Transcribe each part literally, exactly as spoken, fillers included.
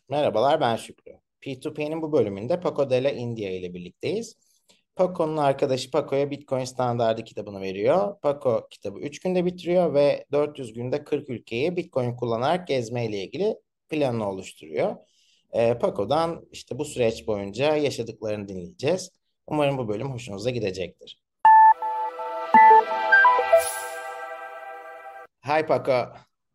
Merhabalar, ben Şükrü. P iki P'nin bu bölümünde Paco de la India ile birlikteyiz. Paco'nun arkadaşı Paco'ya Bitcoin standardı kitabını veriyor. Paco kitabı üç günde bitiriyor ve dört yüz günde kırk ülkeyi Bitcoin kullanarak gezmeyle ilgili planını oluşturuyor. Ee, Paco'dan işte bu süreç boyunca yaşadıklarını dinleyeceğiz. Umarım bu bölüm hoşunuza gidecektir. Hi Paco.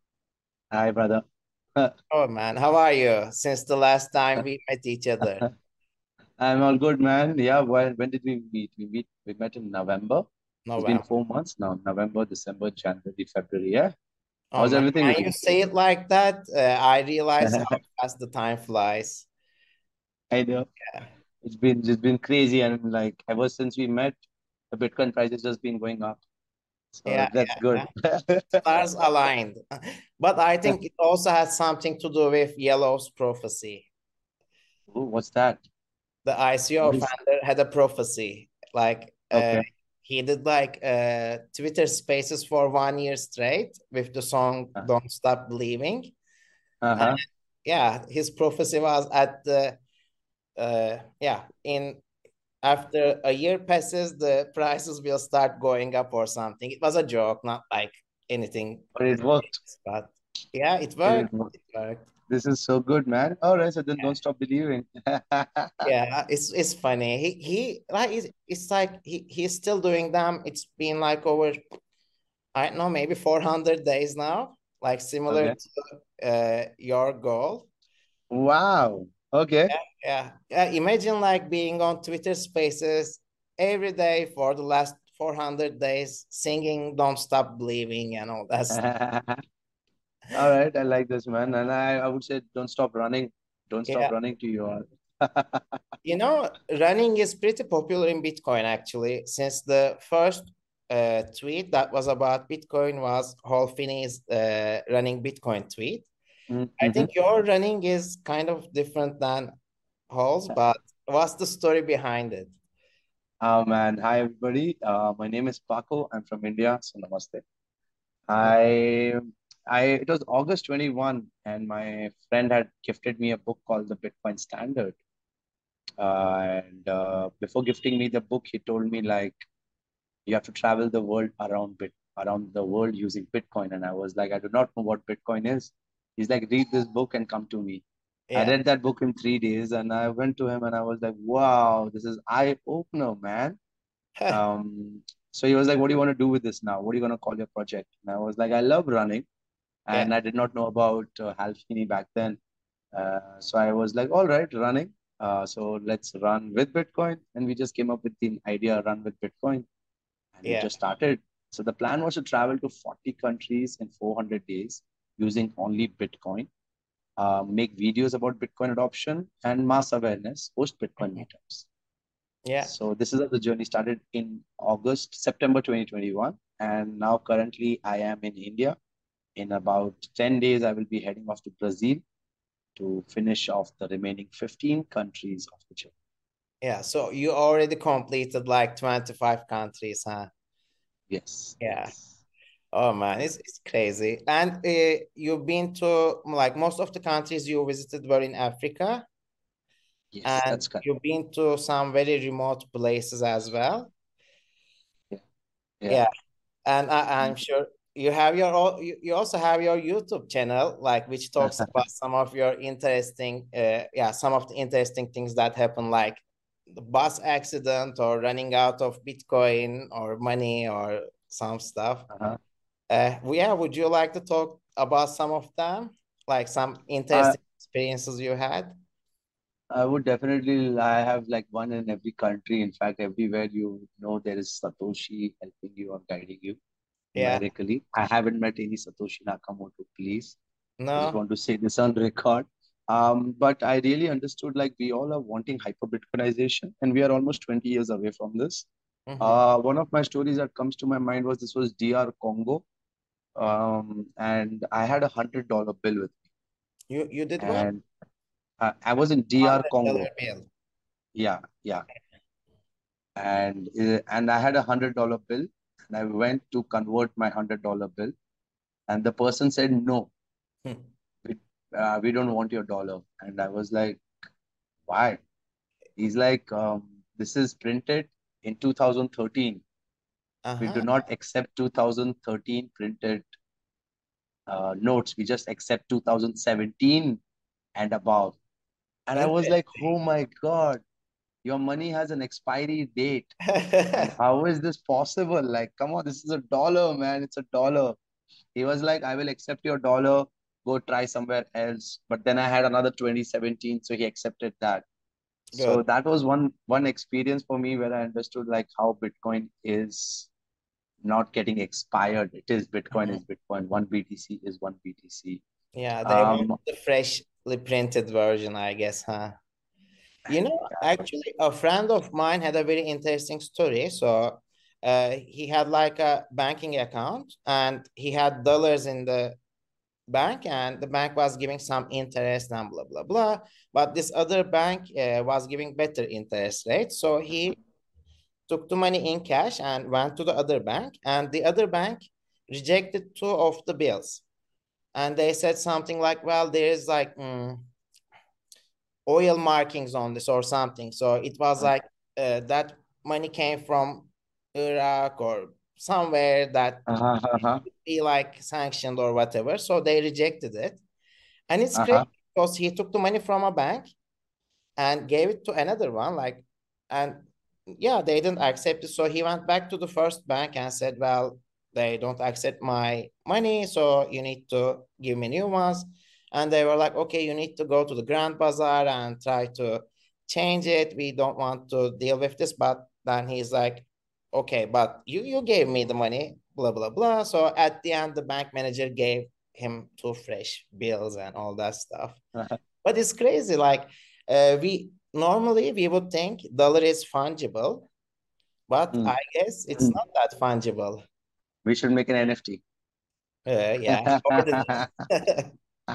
Hi, brother. Oh man, how are you since the last time we met each other? I'm all good, man. Yeah, when, when did we meet? We meet we met in November. It's been November. four months now. November, December, January, February. Yeah. Oh How's man, everything when with you you? say it like that, uh, I realize how fast the time flies. I know. Yeah, It's been it's been crazy, and like ever since we met, the Bitcoin price has just been going up. So yeah, that's good. yeah. Stars aligned. But I think it also has something to do with Yellow's prophecy. Ooh, what's that? The I C O What is founder had a prophecy. Like uh, okay? he did like uh, Twitter Spaces for one year straight with the song Uh, "Don't Stop Believing." And Uh-huh. yeah, his prophecy was at the uh, yeah in after a year passes, the prices will start going up or something. It was a joke, not like anything But it worked. serious, but yeah, it It is. worked. It worked. This is so good, man. All right, so then Yeah, don't stop believing. yeah, it's it's funny. He he like it's, it's like he he's still doing them. It's been like over I don't know maybe four hundred days now, like similar Okay. to uh, your goal. Wow. Okay. Yeah, yeah, yeah. Imagine like being on Twitter Spaces every day for the last four hundred days, singing "Don't Stop Believing" and all that stuff. All right, I like this, man. And I, I would say don't stop running. Don't stop Yeah, running to your you know, running is pretty popular in Bitcoin actually, since the first uh, tweet that was about Bitcoin was Hall Finney's uh, running Bitcoin tweet. I Mm-hmm. think your running is kind of different than Hall's, but what's the story behind it? Oh man, hi everybody. Uh, my name is Paco. I'm from India, so namaste. I I it was August twenty-first and my friend had gifted me a book called The Bitcoin Standard. Uh, and uh, before gifting me the book, he told me like you have to travel the world around bit around the world using Bitcoin. And I was like, I do not know what Bitcoin is. He's like, read this book and come to me. I Yeah. read that book in three days and I went to him and I was like, wow, this is eye opener, man. Um, so he was like, what do you want to do with this now? What are you going to call your project? And I was like, I love running. Yeah. And I did not know about uh, Hal Finney back then. Uh, so I was like, all right, running. Uh, so let's run with Bitcoin. And we just came up with the idea, run with Bitcoin, and we Yeah. just started. So the plan was to travel to forty countries in four hundred days using only Bitcoin, uh, make videos about Bitcoin adoption and mass awareness, host Bitcoin Mhm. meetups. Yeah. So this is how the journey started in August, September twenty twenty-one. And now currently I am in India. In about ten days, I will be heading off to Brazil to finish off the remaining fifteen countries of the journey. Yeah. So you already completed like twenty-five countries, huh? Yes, Yeah. yes. Oh man, it's it's crazy. And uh, you've been to like most of the countries you visited were in Africa, Yes, and that's correct. you've been to some very remote places as well. Yeah, yeah. Yeah. And I, I'm Mm. sure you have your own, you, you also have your YouTube channel, like which talks about some of your interesting, uh, yeah, some of the interesting things that happen, like the bus accident or running out of Bitcoin or money or some stuff. Uh-huh. Uh, yeah, would you like to talk about some of them, like some I interesting experiences you had? I would definitely. I have like one in every country. In fact, everywhere you know there is Satoshi helping you or guiding you Yeah, numerically. I haven't met any Satoshi Nakamoto, please. I just no. want to say this on record. Um, but I really understood like we all are wanting hyper Bitcoinization, and we are almost twenty years away from this. Hmm. Uh, one of my stories that comes to my mind was this was D R Congo, um, and I had a hundred dollar bill with me, You you did what? and I, I was in D R Hundred dollar Congo. bill. Yeah, yeah, and uh, and I had a hundred dollar bill, and I went to convert my hundred dollar bill, and the person said no, Hmm. we, uh, we don't want your dollar. And I was like, why? He's like, um, this is printed in two thousand thirteen. We do Uh-huh. not accept two thousand thirteen printed uh, notes. We just accept two thousand seventeen and above. And I was like, oh Interesting. my God, your money has an expiry date. And how is this possible? Like, come on, this is a dollar, man. It's a dollar. He was like, I will accept your dollar. Go try somewhere else. But then I had another twenty seventeen, so he accepted that. So Good. that was one one experience for me where I understood like how Bitcoin is not getting expired. It is Bitcoin Mhm. is Bitcoin. One B T C is one B T C. Yeah, they want Um, the freshly printed version, I guess, huh? You know, yeah. actually, a friend of mine had a very interesting story. So, uh, he had like a banking account and he had dollars in the bank, and the bank was giving some interest and blah, blah, blah. But this other bank uh, was giving better interest rate. So, he took the money in cash and went to the other bank, and the other bank rejected two of the bills. And they said something like, well, there is like, mm, oil markings on this or something. So it was Uh, like uh, that money came from Iraq or somewhere that uh-huh, uh-huh, be like sanctioned or whatever. So they rejected it. And it's crazy uh-huh, because he took the money from a bank and gave it to another one. Like, and yeah, they didn't accept it. So he went back to the first bank and said, well, they don't accept my money. So you need to give me new ones. And they were like, okay, you need to go to the Grand Bazaar and try to change it. We don't want to deal with this. But then he's like, okay, but you, you gave me the money, blah, blah, blah. So at the end, the bank manager gave him two fresh bills and all that stuff. uh-huh. But it's crazy. Like uh, we normally we would think dollar is fungible, but Hmm. I guess it's not that fungible. We should make an N F T. Uh, yeah. Or the-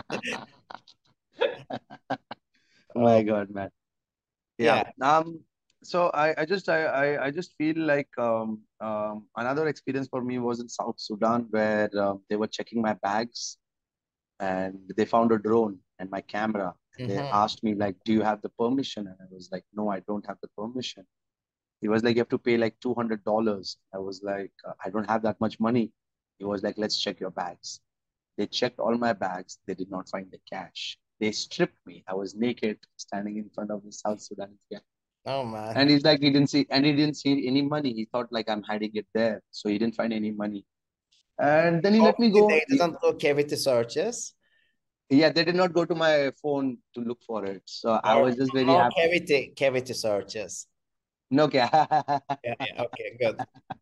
My oh, God, man. Yeah. yeah. Um, so I, I just I, I, I just feel like um, um, another experience for me was in South Sudan where um, they were checking my bags and they found a drone and my camera and they Hmm. asked me like, do you have the permission? And I was like, no, I don't have the permission. He was like, you have to pay like two hundred dollars. I was like, uh, I don't have that much money. He was like, let's check your bags. They checked all my bags. They did not find the cash. They stripped me. I was naked standing in front of the South Sudanese guy. Oh man. And he's like, he didn't see, and he didn't see any money. He thought like I'm hiding it there. So he didn't find any money. And then he let me Obviously, go. they He- didn't do cavity searches. yeah, they did not go to my phone to look for it. So I Or was just very no happy. cavity cavity searches. No, okay. Yeah, yeah. Okay, good.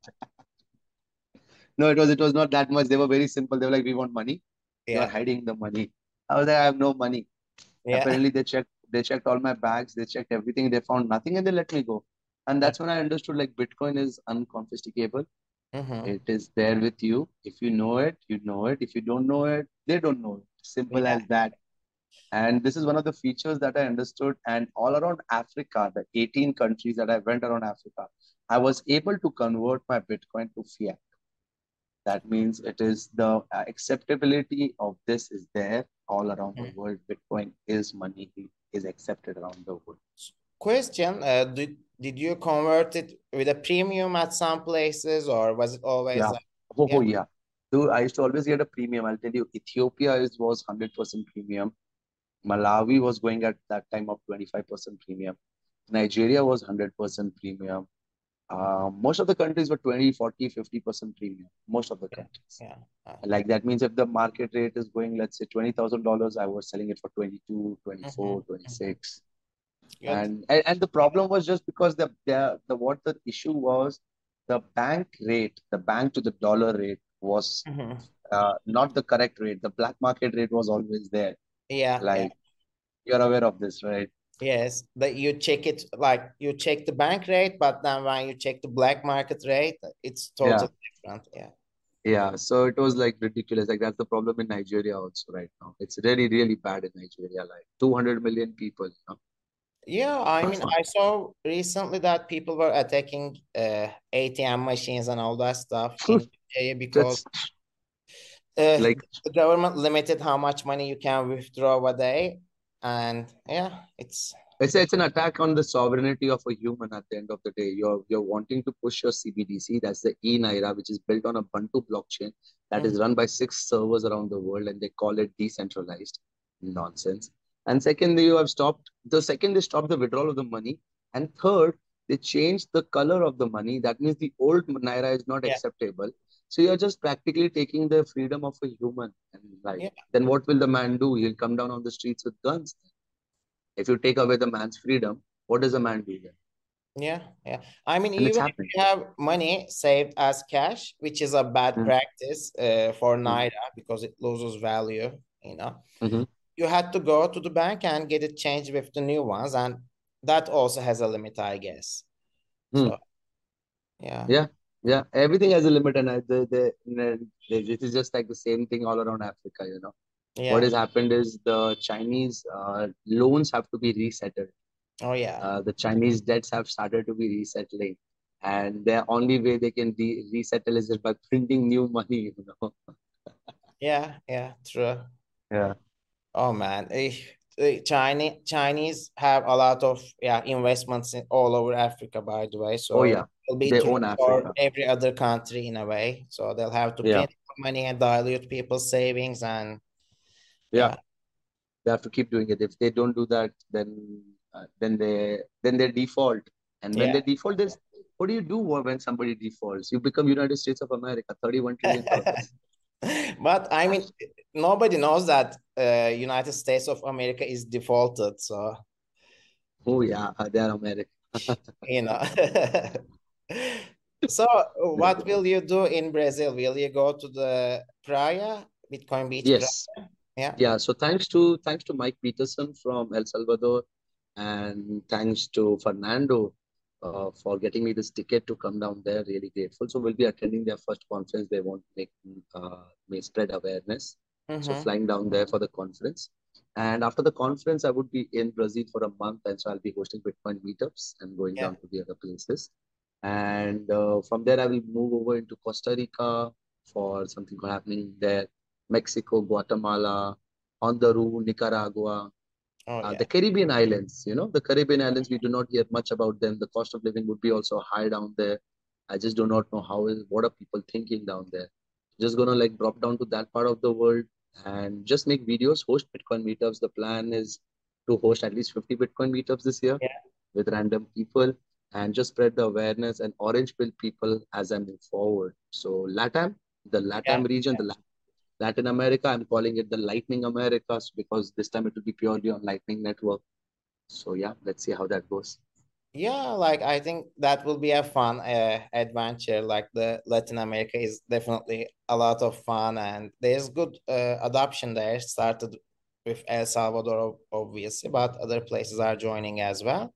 No, it was it was not that much. They were very simple. They were like, we want money. You are Yeah, hiding the money. I was like, I have no money. yeah. Apparently, they checked they checked all my bags, they checked everything, they found nothing, and they let me go. And that's when I understood like Bitcoin is unconfiscatable. Mm-hmm. It is there with you. If you know it, you know it. If you don't know it, they don't know it. Simple Yeah. as that. And this is one of the features that I understood. And all around Africa, the eighteen countries that I went around Africa, I was able to convert my Bitcoin to fiat. That means it is the uh, acceptability of this is there all around the Mhm. world. Bitcoin is money, is accepted around the world. Question, uh, did, did you convert it with a premium at some places, or was it always Yeah. like, Oh, oh, yeah? yeah. So I used to always get a premium. I'll tell you, Ethiopia is was one hundred percent premium. Malawi was going at that time of twenty-five percent premium. Nigeria was one hundred percent premium. Uh, most of the countries were twenty, forty, fifty percent premium. Most of the Yeah, countries. yeah. Uh, Like that means if the market rate is going, let's say twenty thousand dollars I was selling it for twenty-two, mhm, twenty-four, mhm. twenty-six. Good. And, and and the problem was just because the, the the what the issue was, the bank rate, the bank to the dollar rate was Mhm. uh, not the correct rate. The black market rate was always there. Yeah, yeah. Like you're aware of this, right? Yes, that you check it like you check the bank rate, but then when you check the black market rate, it's Yeah. totally different. Yeah. Yeah. So it was like ridiculous. Like that's the problem in Nigeria also right now. It's really, really bad in Nigeria. Like two hundred million people. You know? Yeah, I mean, I saw recently that people were attacking uh, A T M machines and all that stuff in Nigeria because That's Uh, Like the government limited how much money you can withdraw a day, and yeah, it's it's it's an attack on the sovereignty of a human at the end of the day. You're you're wanting to push your C B D C, that's the e-Naira, which is built on a Ubuntu blockchain that Mhm. is run by six servers around the world, and they call it decentralized. Nonsense. And second, you have stopped the second they stopped the withdrawal of the money, and third, they changed the color of the money. That means the old Naira is not Yeah, acceptable. So you're just practically taking the freedom of a human. And like, yeah, then what will the man do? He'll come down on the streets with guns. If you take away the man's freedom, what does a man do then? yeah, yeah. I mean, And it's even if happening. you have money saved as cash, which is a bad Mm, practice uh, for mm, Naira because it loses value, you know, mhm, you had to go to the bank and get it changed with the new ones, and that also has a limit, I guess. mm. So yeah, Yeah, yeah. Everything has a limit, and I, the, the, the, this is just like the same thing all around Africa. You know, what yeah. has happened is the Chinese uh, loans have to be resettled. Oh yeah, Uh, the Chinese debts have started to be resettling, and the only way they can de resettle is just by printing new money. You know. yeah, yeah. True. Yeah. Oh man, eh, eh, Chinese Chinese have a lot of yeah investments in all over Africa, by the way. Oh So yeah. it'll be They true own for Africa. every other country in a way. So they'll have to Yeah. print money and dilute people's savings, and Yeah. yeah, They have to keep doing it. If they don't do that, then uh, then they then they default. And when yeah. they default, this what do you do when somebody defaults? You become United States of America, thirty-one trillion dollars. But I mean, nobody knows that uh, United States of America is defaulted. So Oh yeah, uh, they are America. you know. So what will you do in Brazil? Will you go to the Praia, Bitcoin Beach Praia? Yes. Yeah. Yeah. So thanks to thanks to Mike Peterson from El Salvador, and thanks to Fernando uh, for getting me this ticket to come down there. Really grateful. So we'll be attending their first conference. They want to make uh, may spread awareness. So Mm-hmm. flying down there for the conference. And after the conference, I would be in Brazil for a month, and so I'll be hosting Bitcoin meetups and going Yeah. down to the other places. And uh, from there, I will move over into Costa Rica for something happening there, Mexico, Guatemala, Honduras, Nicaragua, Oh uh, yeah. the Caribbean islands. You know, the Caribbean islands, we do not hear much about them. The cost of living would be also high down there. I just do not know how is what are people thinking down there. Just gonna like drop down to that part of the world and just make videos, host Bitcoin meetups. The plan is to host at least fifty Bitcoin meetups this year Yeah. with random people and just spread the awareness and orange pill people as I move forward. So LATAM, the Yeah. LATAM region, the Latin America, I'm calling it the Lightning Americas because this time it will be purely on Lightning Network. So yeah, let's see how that goes. Yeah, like I think that will be a fun uh, adventure. Like the Latin America is definitely a lot of fun, and there's good uh, adoption there. Started with El Salvador, obviously, but other places are joining as well.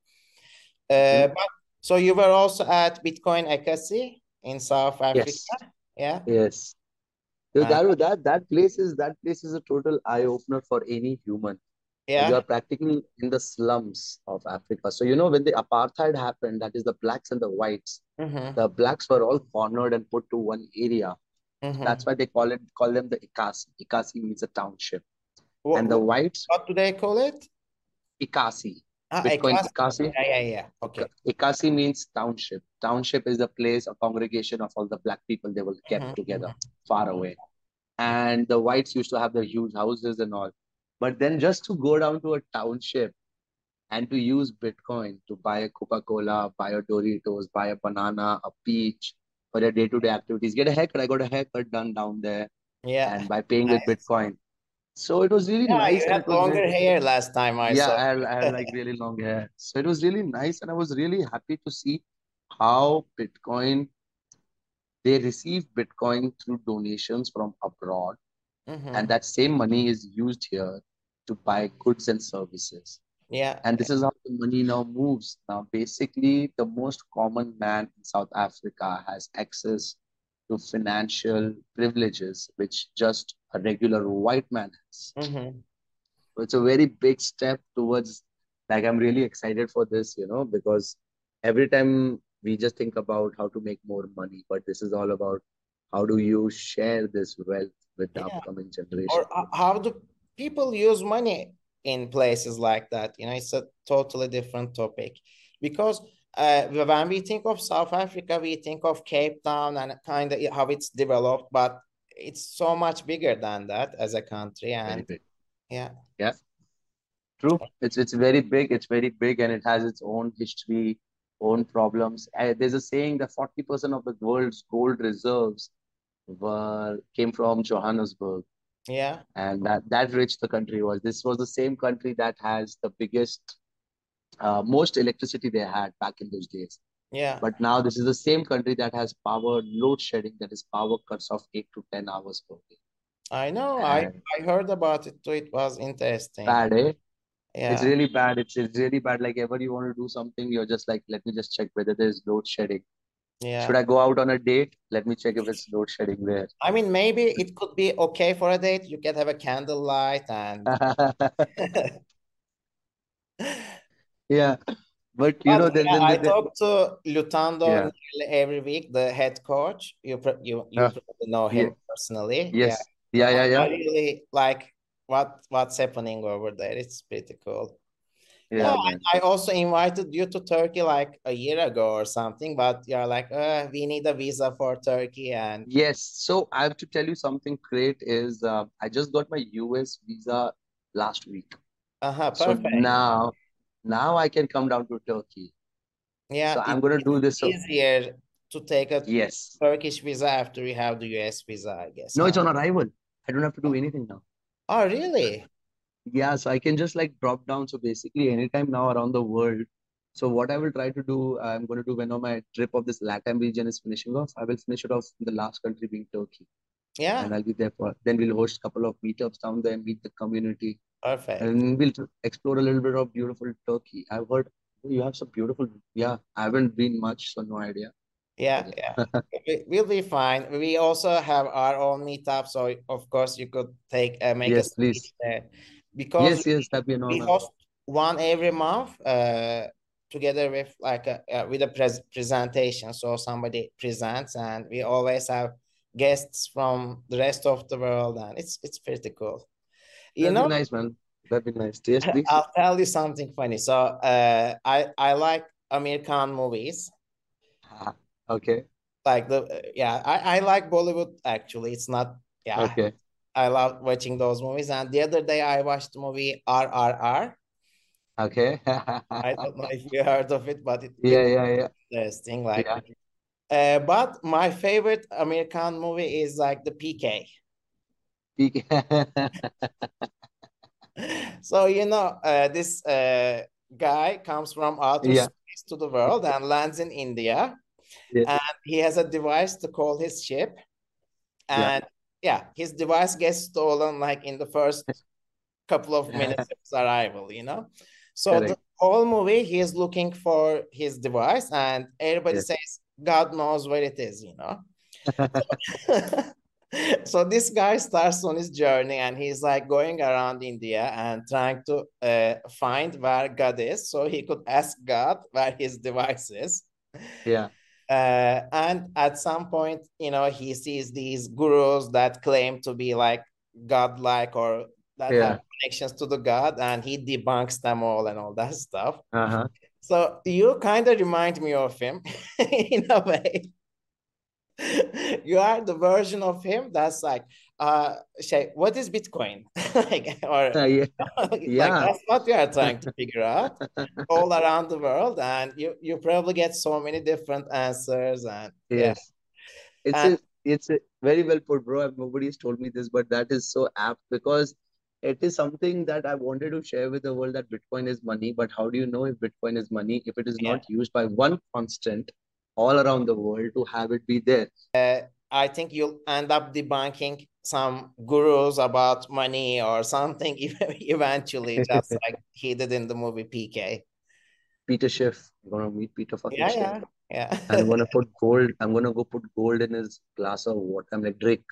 Uh, Mhm. but so you were also at Bitcoin Ekasi in South Africa, Yes, yeah? yes. So And that that that place is that place is a total eye opener for any human. You are yeah. practically in the slums of Africa. So you know when the apartheid happened, that is the blacks and the whites. Mm-hmm. The blacks were all cornered and put to one area. Mm-hmm. That's why they call it call them the Ikasi. Ikasi means a township. What, And the what whites, what do they call it? Ikasi. Ah, Bitcoin Ekasi. Ikasi. Yeah, yeah, yeah. Okay. Ika- Ikasi means township. Township is the place, a congregation of all the black people they will kept together, Mm-hmm. far away. And the whites used to have the huge houses and all. But then just to go down to a township and to use Bitcoin to buy a Coca-Cola, buy a Doritos, buy a banana, a peach for their day-to-day activities. Get a haircut. I got a haircut done down there Yeah. and by paying with Nice. Bitcoin. So it was really Yeah, nice you and had it was really, longer hair last time I yeah, saw. I had, I had like really long hair. So it was really nice and I was really happy to see how Bitcoin, they receive Bitcoin through donations from abroad and Mm-hmm. that same money is used here to buy goods and services. Yeah. And this is how the money now moves. Now, basically, the most common man in South Africa has access to financial privileges, which just a regular white man has. Mm-hmm. So it's a very big step towards, like, I'm really excited for this, you know, because every time we just think about how to make more money, but this is all about how do you share this wealth with the Yeah. upcoming Or generation. h- how do people use money in places like that? You know, it's a totally different topic because uh, when we think of South Africa, we think of Cape Town and kind of how it's developed, but it's so much bigger than that as a country. Very And big. yeah, Yeah, true. It's it's very big. It's very big, and it has its own history, own problems. Uh, there's a saying that forty percent of the world's gold reserves were came from Johannesburg, yeah, and that that rich the country was. This was the same country that has the biggest, uh, most electricity they had back in those days. yeah. But now this is the same country that has power load shedding, that is power cuts of eight to ten hours per day. I know. I And I heard about it too. It was interesting. bad, eh? It's Yeah, really bad. It's it's really bad. Like ever you want to do something, you're just like, let me just check whether there's load shedding. Should yeah. I go out on a date? Let me check if it's load shedding there. I mean, maybe it could be okay for a date. You can have a candlelight and Yeah, but you but know, then yeah, then I the, the talk to Lutando yeah. nearly every week, the head coach. You pro- you you Uh, probably know yeah, him personally. Yeah. yes, So yeah, I, yeah, I yeah, really like what what's happening over there. It's pretty cool. Yeah, yeah, man. I, I also invited you to Turkey like a year ago or something, but you're like, uh, we need a visa for Turkey and Yes. So I have to tell you something great is uh, I just got my U S visa last week. uh-huh, So perfect. now, now I can come down to Turkey. So Yeah, I'm it, gonna it's do this. So easier to take a yes. Turkish visa after you have the U S visa, I guess, No, huh? it's on arrival. I don't have to do anything now. Oh, really? Yeah, so I can just like drop down. So basically, anytime now around the world. So what I will try to do, I'm going to do when my trip of this LATAM region is finishing off. I will finish it off in the last country being Turkey, Yeah, and I'll be there for. Then we'll host a couple of meetups down there, meet the community, perfect. and we'll tr- explore a little bit of beautiful Turkey. I've heard you have some beautiful. Yeah, I haven't been much, so no idea. But Yeah, yeah. yeah. We- We'll be fine. We also have our own meetup, so of course you could take uh, make a Yes, speech please. there because Yes, yes, that'd be an we honor. host one every month uh, together with like a, uh, with a pres presentation. So somebody presents, and we always have guests from the rest of the world, and it's it's pretty cool. You That'd be know, nice, man. That'd be nice. Yes, please. I'll tell you something funny. So uh, I I like American movies. Ah, okay. Like the yeah, I, I like Bollywood actually. It's not yeah. Okay. I love watching those movies. And the other day I watched the movie R R R. Okay. I don't know if you heard of it, but it, Yeah, it's yeah, yeah. interesting. Like Yeah. uh, but my favorite American movie is like the P K. Peak. So you know, uh, this uh, guy comes from outer Yeah, space to the world and lands in India, yeah, and he has a device to call his ship. yeah. And yeah, his device gets stolen like in the first couple of minutes of his arrival, you know? So the Correct. whole movie, he is looking for his device, and everybody Yes. says, God knows where it is, you know? So this guy starts on his journey and he's like going around India and trying to uh, find where God is so he could ask God where his device is. Yeah, Uh, and at some point, you know, he sees these gurus that claim to be like godlike or that have yeah. connections to the God, and he debunks them all and all that stuff. Uh-huh. So you kind of remind me of him in a way. You are the version of him that's like, uh, Shay, what is Bitcoin? Like, or Yeah, like yeah. that's what you are trying to figure out all around the world, and you you probably get so many different answers, and yeah, Yes. It's and a it's a very well put, bro. Nobody's told me this, but that is so apt because it is something that I wanted to share with the world that Bitcoin is money. But how do you know if Bitcoin is money if it is yeah, not used by one constant all around the world to have it be there? uh, I think you'll end up debunking some gurus about money or something eventually, just like he did in the movie P K. Peter Schiff. I'm gonna meet Peter fucking Yeah, Schiff. yeah, yeah. I'm gonna put gold. I'm gonna go put gold in his glass of water. I'm like Drake.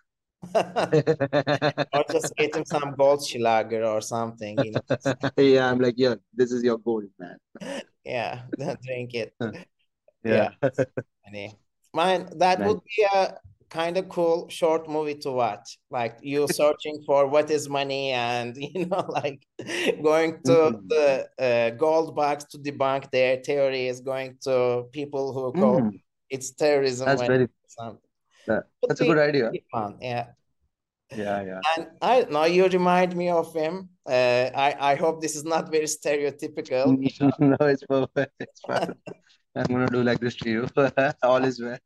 Or just get him some Goldschlager or something, you know. Yeah, I'm like, yeah, this is your gold, man. Yeah, drink it. Yeah, Yeah, funny. Mine, that nice. would be a kind of cool short movie to watch. Like you searching for what is money and you know like going to Mm. the uh, gold box to debunk their theories, going to people who call Mm. it's terrorism That's when very something. that, Would that's a be good idea. pretty fun, yeah. Yeah, yeah. And I don't know, you remind me of him. Uh, I I hope this is not very stereotypical. No, it's perfect. It's fine. I'm gonna do like this to you. All is well.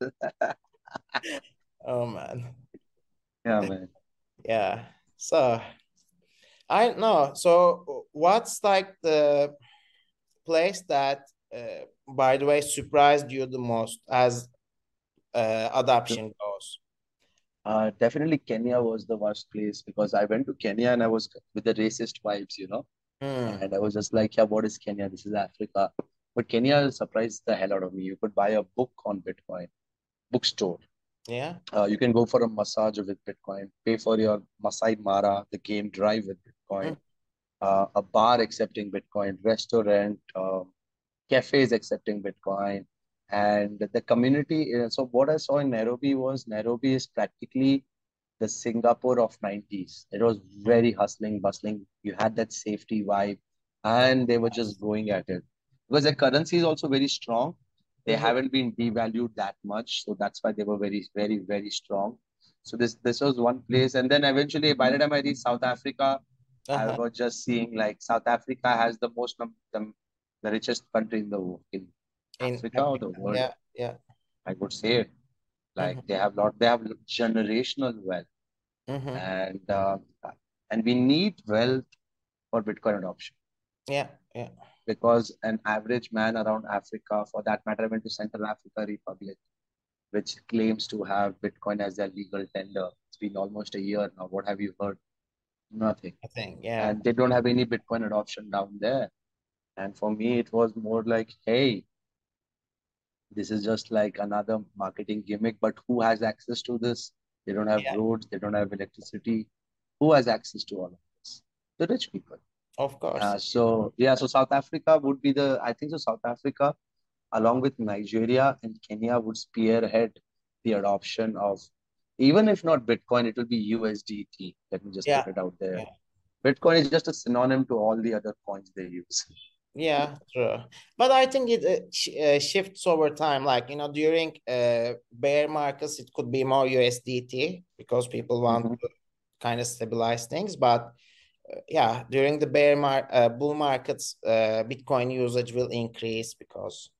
Oh man, Yeah, man. yeah. So I don't know. So what's like the place that, uh, by the way, surprised you the most as uh, So, adoption goes? uh, definitely Kenya was the worst place because I went to Kenya and I was with the racist vibes, you know, Hmm. and I was just like, yeah, what is Kenya? This is Africa. But Kenya surprised the hell out of me. You could buy a book on Bitcoin, bookstore. Yeah. Uh, you can go for a massage with Bitcoin, pay for your Masai Mara, the game drive with Hmm. Bitcoin, uh, a bar accepting Bitcoin, restaurant, um, cafes accepting Bitcoin, and the community. uh, So what I saw in Nairobi was Nairobi is practically the Singapore of nineties. It was Hmm. very hustling, bustling. You had that safety vibe, and they were just going at it because their currency is also very strong. They Hmm. haven't been devalued that much, so that's why they were very, very, very strong. So this this was one place, and then eventually, by the time I reached South Africa, I Uh-huh. was just seeing like South Africa has the most num- the, the richest country in the wo- in In Africa or Africa. the world. Yeah. Yeah. I would say Hmm. like they have lot they have generational wealth Hmm. and uh, and we need wealth for Bitcoin adoption Yeah. Yeah. because an average man around Africa, for that matter, I went to Central Africa Republic, which claims to have Bitcoin as their legal tender. It's been almost a year now. What have you heard? Nothing. I think. Yeah. And they don't have any Bitcoin adoption down there. And for me, it was more like, hey, this is just like another marketing gimmick, but who has access to this? They don't have Yeah. roads, they don't have electricity. Who has access to all of this? The rich people. Of course. Uh, so yeah, so South Africa would be the I think so South Africa along with Nigeria and Kenya would spearhead the adoption of even if not Bitcoin, it will be U S D T. Let me just Yeah. put it out there. Yeah. Bitcoin is just a synonym to all the other coins they use. Yeah, true. But I think it uh, sh uh, shifts over time. Like, you know, during uh, bear markets, it could be more U S D T because people want Mhm. to kind of stabilize things. But uh, yeah, during the bear mar uh, bull markets, uh, Bitcoin usage will increase because,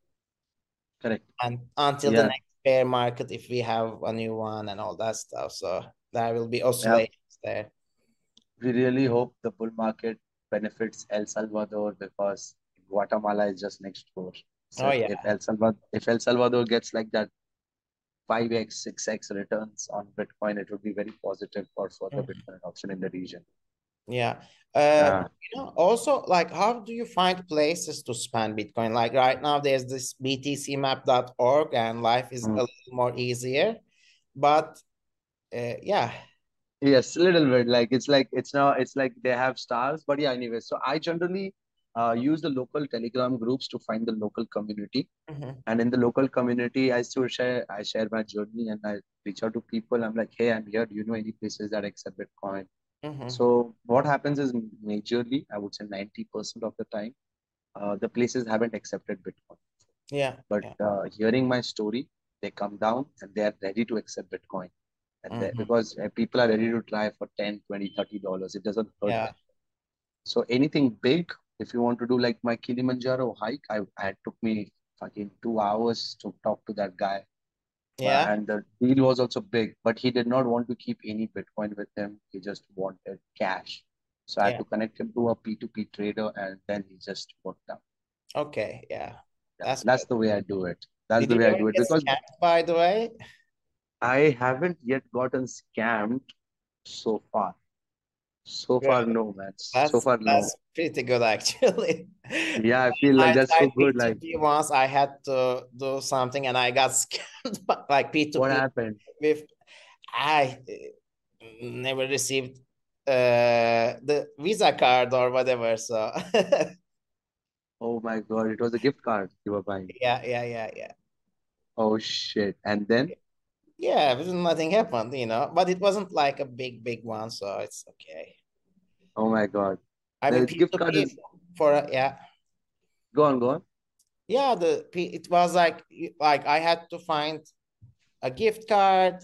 Correct. and until the Yeah. next bear market, if we have a new one and all that stuff. So there will be Yeah. oscillations there. We really hope the bull market benefits El Salvador because Guatemala is just next door. So Oh if, yeah. if El Salvador if El Salvador gets like that five x, six x returns on Bitcoin, it would be very positive for further Mhm. Bitcoin adoption in the region. Yeah. Uh, Yeah. you know, also, like, how do you find places to spend Bitcoin? Like right now, there's this b t c map dot org and life is Mm. a little more easier. But uh, yeah. Yes, a little bit. Like it's like it's now it's like they have stars, but yeah, anyway. So I generally uh, use the local Telegram groups to find the local community. Mhm. And in the local community, I still share I share my journey and I reach out to people. I'm like, hey, I'm here. Do you know any places that accept Bitcoin? Mhm. So what happens is majorly, I would say ninety percent of the time, uh, the places haven't accepted Bitcoin. Yeah. But Yeah. uh, hearing my story, they come down and they are ready to accept Bitcoin. And they, Mhm. because uh, people are ready to try for ten, twenty, thirty dollars, it doesn't hurt Yeah. them. So anything big, if you want to do like my Kilimanjaro hike, I, I took me fucking two hours to talk to that guy. Uh, Yeah. and the deal was also big, but he did not want to keep any Bitcoin with him. He just wanted cash. So I had Yeah. to connect him to a P two P trader and then he just worked out. Okay. Yeah. Yeah, That's that's good. the way I do it. That's Did the you way I ever do it get because scammed, by the way? I haven't yet gotten scammed so far. So far, Really? no, man. So That's far, no. that's pretty good actually. Yeah, I feel like I that's so tried good. Like, P two P once. I had to do something and I got scammed by like what P two P happened? with I uh, never received uh the Visa card or whatever. So Oh my God, it was a gift card you were buying. yeah, yeah, yeah, yeah. Oh shit. And then? Yeah, but nothing happened, you know. But it wasn't like a big, big one, so it's okay. Oh my God. I mean, The gift card P two P is, for a, yeah, go on, go on. yeah. The P, it was like like I had to find a gift card,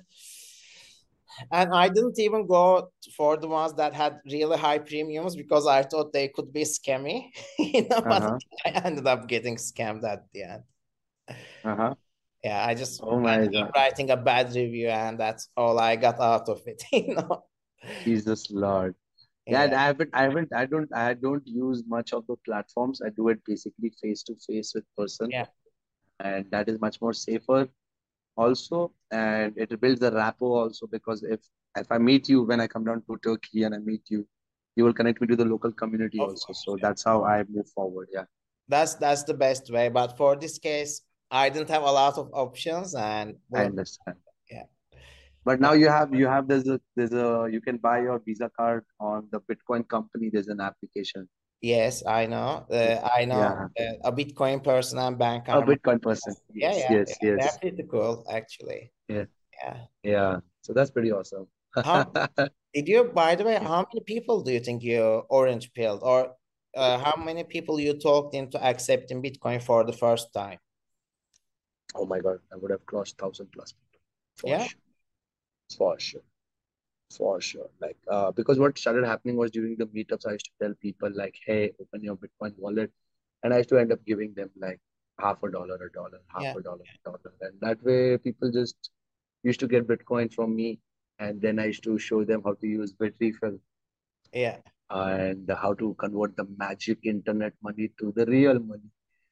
and I didn't even go for the ones that had really high premiums because I thought they could be scammy, you know. But Uh-huh. I ended up getting scammed at the end. Uh-huh. Yeah, I just Oh my ended up God. writing a bad review, and that's all I got out of it, you know. Jesus Lord. Yeah, and Yeah, I haven't, I haven't, I don't, I don't use much of the platforms. I do it basically face to face with person, yeah, and that is much more safer also, and it builds the rapport also because if if I meet you when I come down to Turkey and I meet you, you will connect me to the local community of also. course. So Yeah. that's how I move forward. Yeah, That's that's the best way. But for this case, I didn't have a lot of options, and I well, understand. yeah. But Uh, now you have you have there's a there's a you can buy your Visa card on the Bitcoin company. There's an application. yes, I know. Uh, I know Yeah, uh, a Bitcoin person and bank a are. Bitcoin person. Yeah, Yes, yeah, yeah. yes, They're yes. pretty cool, actually. Yeah, Yeah. yeah. So that's pretty awesome. How did you, by the way, how many people do you think you orange pilled, or uh, how many people you talked into accepting Bitcoin for the first time? Oh my God, I would have crossed thousand plus people for Yeah. sure, for sure. For sure. Like, uh, because what started happening was during the meetups, I used to tell people like, hey, open your Bitcoin wallet. And I used to end up giving them like half a dollar, a dollar, half Yeah. a dollar, a dollar. And that way people just used to get Bitcoin from me. And then I used to show them how to use Bitrefill Yeah. and how to convert the magic internet money to the real money.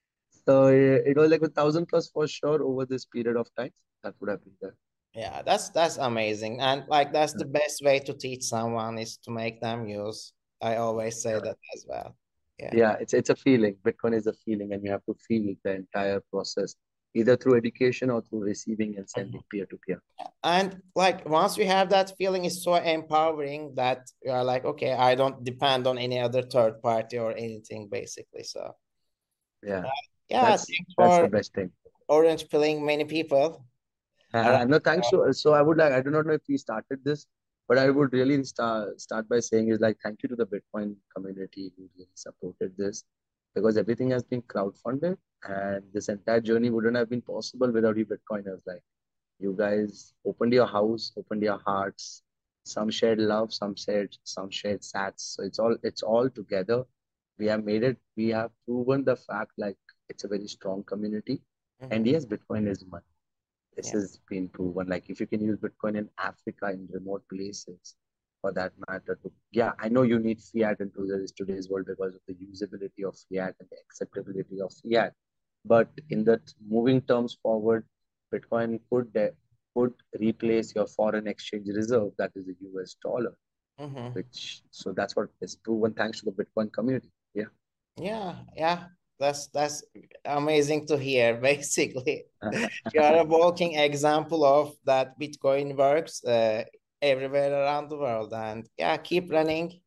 So eh, it was like a thousand plus for sure over this period of time. That would have been there. Yeah, that's that's amazing. And like that's the best way to teach someone is to make them use. I always say that as well. Yeah. Yeah, it's it's a feeling. Bitcoin is a feeling, and you have to feel the entire process, either through education or through receiving and Mhm. sending peer to peer. And like once you have that feeling, it's so empowering that you are like, okay, I don't depend on any other third party or anything, basically. So Yeah, yeah, that's thanks that's the for best thing. orange pilling many people. Uh, Uh, no, thanks to so I would like I do not know if we started this, but I would really start start by saying is like thank you to the Bitcoin community who really supported this because everything has been crowdfunded and this entire journey wouldn't have been possible without you Bitcoiners. Like you guys opened your house, opened your hearts. Some shared love, some shared some shared sats. So it's all it's all together. We have made it. We have proven the fact like it's a very strong community. And mhm. yes, Bitcoin is money. This Yeah. has been proven. Like if you can use Bitcoin in Africa, in remote places, for that matter, to yeah, I know you need fiat in today's today's world because of the usability of fiat and the acceptability of fiat. But in that moving terms forward, Bitcoin could uh, could replace your foreign exchange reserve, that is the U S dollar, Mhm. which so that's what is proven thanks to the Bitcoin community. Yeah. Yeah, yeah. That's that's amazing to hear, basically. You are a walking example of that Bitcoin works uh, everywhere around the world. And yeah, keep running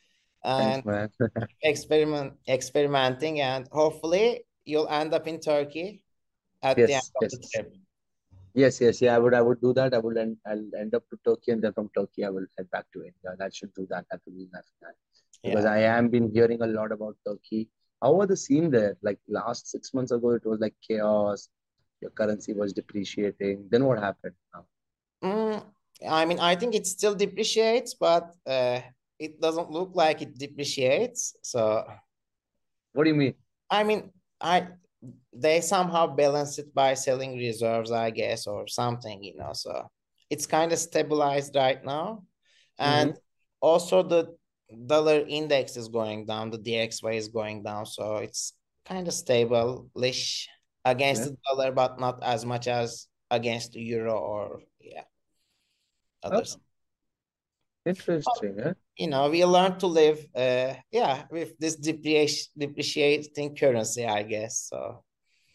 and Thanks, man. experiment experimenting, and hopefully you'll end up in Turkey at the end Yes, of the yes. trip. Yes, yes, yeah, I would, I would do that. I will end, I'll end up to Turkey, and then from Turkey, I will head back to India. That should do that. That will be my plan. Because Yeah. I am been hearing a lot about Turkey. How was the scene there? Like last six months ago, it was like chaos. Your currency was depreciating. Then what happened now? Mm, I mean, I think it still depreciates, but uh, it doesn't look like it depreciates. So What do you mean? I mean, I they somehow balance it by selling reserves, I guess, or something, you know. So it's kind of stabilized right now. And Mm-hmm. also the dollar index is going down, the D X Y is going down. So it's kind of stable-ish against Yeah. the dollar, but not as much as against the euro or yeah, Oh, others. interesting, eh? You know, we learn to live uh yeah, with this depreciation depreciating currency, I guess. So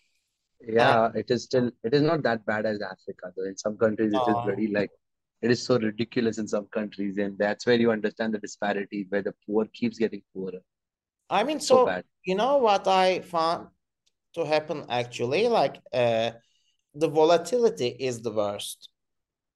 and Yeah, it is still, it is not that bad as Africa, though. In some countries, it is uh, very like, it is so ridiculous in some countries, and that's where you understand the disparity, where the poor keeps getting poorer. I mean, It's so so bad. you know what I found to happen actually, like uh the volatility is the worst.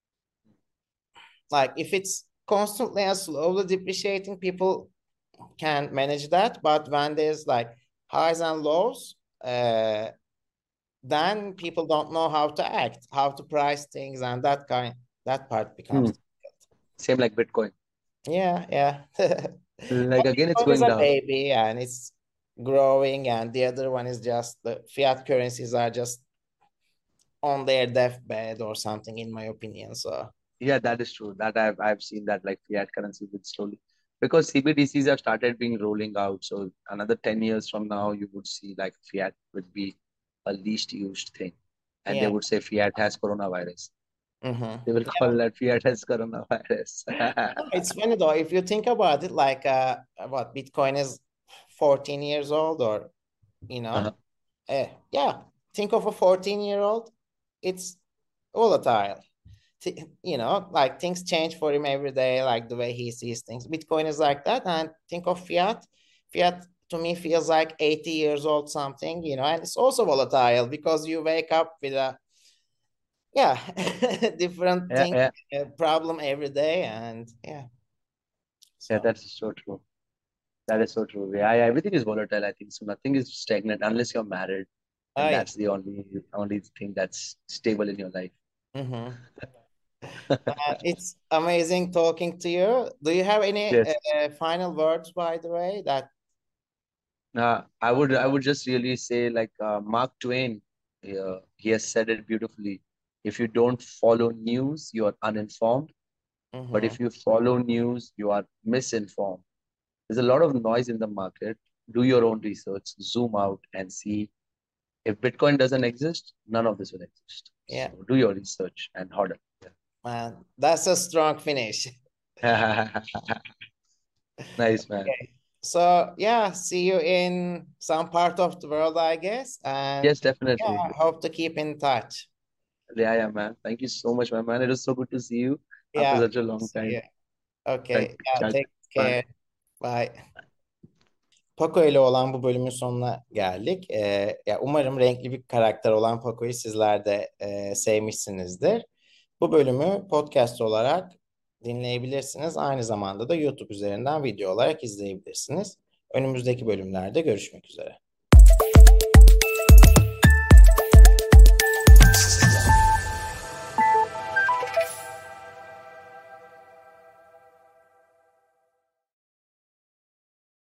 like if it's constantly and slowly depreciating, people can manage that. But when there's like highs and lows, uh, then people don't know how to act, how to price things, and that kind that part Hmm. becomes Same like Bitcoin. yeah, yeah. Like again, it's Bitcoin is going a down. baby and it's growing, and the other one is just the fiat currencies are just on their deathbed or something, in my opinion. So Yeah, that is true. That I've I've seen that like fiat currency will slowly because C B D Cs have started being rolling out. So another ten years from now, you would see like fiat would be a least used thing. And they yeah. would say fiat has coronavirus. Mm-hmm. They will call that fiat has coronavirus. It's funny though, if you think about it, like uh, what Bitcoin is fourteen years old, or you Uh-huh. know, eh, yeah, think of a fourteen year old. It's volatile. Th- You know, like things change for him every day, like the way he sees things. Bitcoin is like that, and think of fiat. Fiat to me feels like eighty years old something, you know, and it's also volatile because you wake up with a yeah different Yeah, thing, yeah, uh, problem every day, and yeah, yeah, so. that's so true. That is so true. Yeah, yeah, everything is volatile, I think. So nothing is stagnant unless you're married, Oh and yeah. that's the only only thing that's stable in your life. Mm-hmm. Uh, it's amazing talking to you. Do you have any Yes. uh, final words, by the way? That Uh, I would I would just really say like uh, Mark Twain, uh, he has said it beautifully. If you don't follow news, you are uninformed. But mm-hmm. if you follow news, you are misinformed. There's a lot of noise in the market. Do your own research, zoom out and see if Bitcoin doesn't exist, none of this will exist. Yeah, So do your research and hodl. man, that's a strong finish. Yeah. Nice, man. Okay. So yeah, see you in some part of the world, I guess, and Yes, definitely. yeah, hope to keep in touch. Yeah, yeah, man. Thank you so much, my man. It was so good to see you after Yeah, such a long see time. you. Okay, Thank yeah, you. take Bye. care. Bye. Paco ile olan bu bölümün sonuna geldik. Ee, ya umarım renkli bir karakter olan Paco'yu sizler de e, sevmişsinizdir. Bu bölümü podcast olarak dinleyebilirsiniz. Aynı zamanda da YouTube üzerinden video olarak izleyebilirsiniz. Önümüzdeki bölümlerde görüşmek üzere.